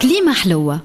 كليمة حلوة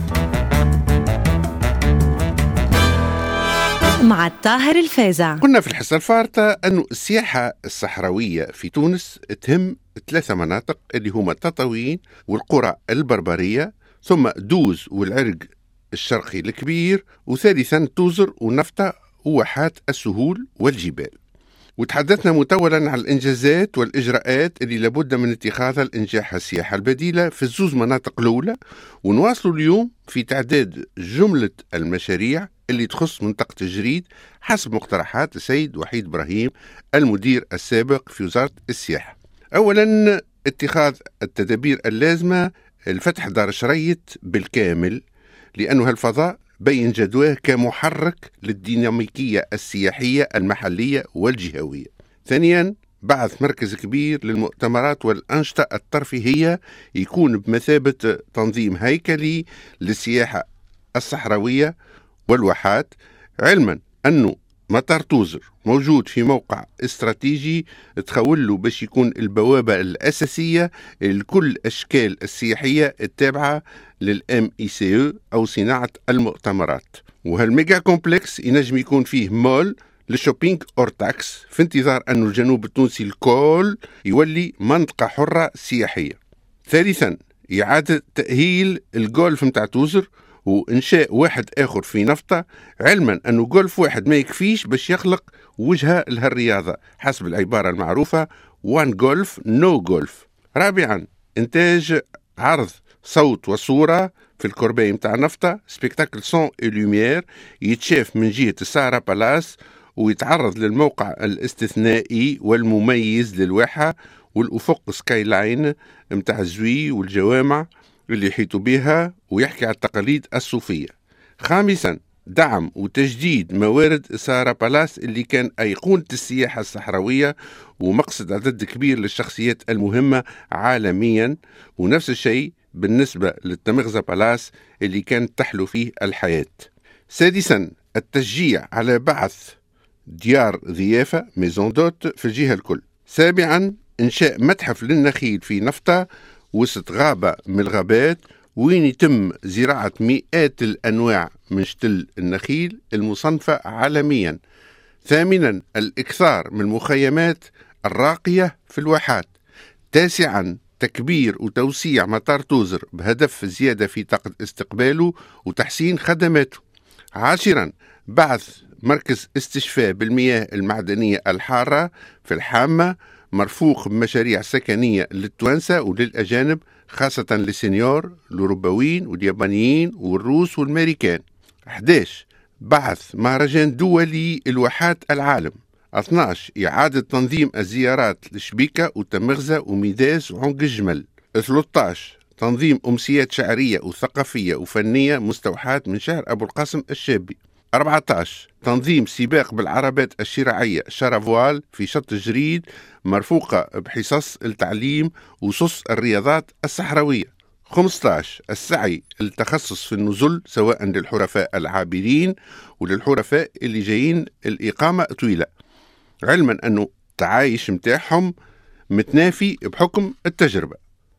مع الطاهر الفازع. قلنا في الحصة الفارطة أن السياحة الصحراوية في تونس تهم 3 مناطق اللي هما تطاوين والقرى البربرية، ثم دوز والعرق الشرقي الكبير، وثالثا توزر ونفطة وواحات السهول والجبال. وتحدثنا مطولا عن الإنجازات والإجراءات اللي لابد من اتخاذها لإنجاح السياحة البديلة في الزوز مناطق الأولى، ونواصل اليوم في تعداد جملة المشاريع اللي تخص منطقة الجريد حسب مقترحات السيد وحيد إبراهيم المدير السابق في وزارة السياحة. أولا اتخاذ التدابير اللازمة لفتح دار شريط بالكامل، لأنه هالفضاء بين جدواه كمحرك للديناميكية السياحية المحلية والجهوية. ثانيا بعث مركز كبير للمؤتمرات والأنشطة الترفيهية يكون بمثابة تنظيم هيكلي للسياحة الصحراوية والواحات، علما أنه مطار توزر موجود في موقع استراتيجي تخول له باش يكون البوابة الأساسية لكل أشكال السياحية التابعة للMICE أو صناعة المؤتمرات. وهالميجا كومبلكس ينجم يكون فيه مول للشوبينج أورتاكس في انتظار أن الجنوب التونسي الكل يولي منطقة حرة سياحية. ثالثا إعادة تأهيل الجولف متاع توزر وإنشاء واحد آخر في نفطة، علما أنه جولف واحد ما يكفيش باش يخلق وجهة لهالرياضة حسب العبارة المعروفة one golf no golf. رابعا إنتاج عرض صوت وصورة في الكورباي متاع نفطة، سبيكتاكل سون اي لوميير، يتشاف من جهة السارة بالاس ويتعرض للموقع الاستثنائي والمميز للواحة والأفق سكاي لاين متاع الزوي والجوامع اللي يحيطوا بها، ويحكي على التقاليد الصوفية. خامسا دعم وتجديد موارد سارة بالاس اللي كان أيقونة السياحة الصحراوية ومقصد عدد كبير للشخصيات المهمة عالميا، ونفس الشيء بالنسبة للتمغزة بالاس اللي كانت تحلو فيه الحياة. سادسا التشجيع على بعث ديار ضيافة ميزون دوت في الجهة الكل. سابعا إنشاء متحف للنخيل في نفطة وسط غابة من الغابات وين يتم زراعة مئات الأنواع من شتل النخيل المصنفة عالميا. ثامنا الإكثار من المخيمات الراقية في الواحات. تاسعا تكبير وتوسيع مطار توزر بهدف زيادة في طاقة استقباله وتحسين خدماته. عاشرا بعث مركز استشفاء بالمياه المعدنية الحارة في الحامة مرفوق بمشاريع سكنية للتوانسة وللأجانب، خاصة للسينيور الأوروبيين واليابانيين والروس والأمريكان. 11 بعث مهرجان دولي الواحات العالم. 12 إعادة تنظيم الزيارات لشبيكة وتمغزة وميداس وعنق الجمل. 13 تنظيم أمسيات شعرية وثقافية وفنية مستوحاة من شهر أبو القاسم الشابي. 14 تنظيم سباق بالعربات الشراعية شارافوال في شط الجريد مرفوقة بحصص التعليم وصص الرياضات الصحراوية. 15 السعي للتخصص في النزل سواء للحرفاء العابرين وللحرفاء اللي جايين الإقامة طويلة، علما أنه التعايش متاعهم متنافي بحكم التجربة.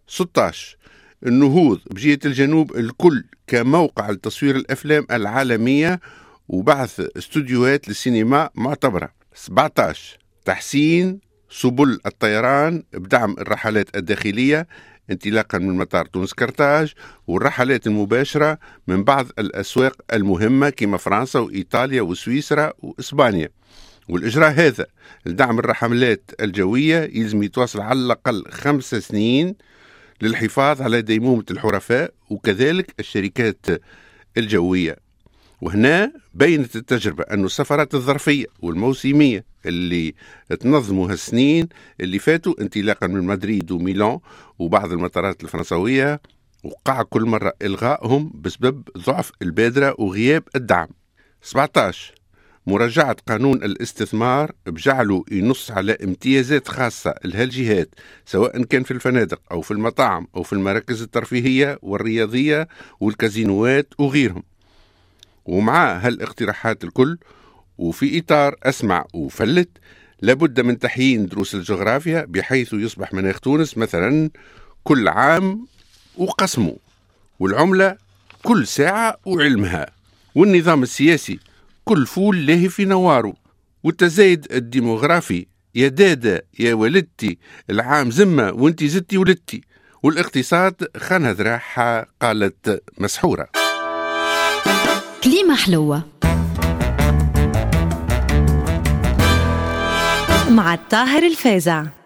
16 النهوض بجهة الجنوب الكل كموقع لتصوير الأفلام العالمية وبعث استوديوهات للسينما معتبرة. 17 تحسين سبل الطيران بدعم الرحلات الداخلية انطلاقا من مطار تونس كرتاج والرحلات المباشرة من بعض الأسواق المهمة كما فرنسا وإيطاليا وسويسرا وإسبانيا. والإجراء هذا لدعم الرحلات الجوية يلزم يتواصل على الأقل 5 سنين للحفاظ على ديمومة الحرفاء وكذلك الشركات الجوية. وهنا بينت التجربة أن السفرات الظرفية والموسمية اللي تنظموا هالسنين اللي فاتوا انطلاقا من مدريد وميلان وبعض المطارات الفرنسوية وقع كل مرة إلغائهم بسبب ضعف البادرة وغياب الدعم. 17 مراجعة قانون الاستثمار بجعله ينص على امتيازات خاصة لهالجهات سواء كان في الفنادق أو في المطاعم أو في المراكز الترفيهية والرياضية والكازينوات وغيرهم. ومع هالاقتراحات الكل وفي إطار أسمع وفلت لابد من تحيين دروس الجغرافيا بحيث يصبح مناخ تونس مثلا كل عام وقسمه والعملة كل ساعة وعلمها، والنظام السياسي كل فول لاهي في نواره، والتزايد الديموغرافي يا دادا يا ولدتي العام زمة وانتي زدتي ولدتي، والاقتصاد خانها ذراعها قالت مسحورة. كليمة حلوة مع الطاهر الفازع.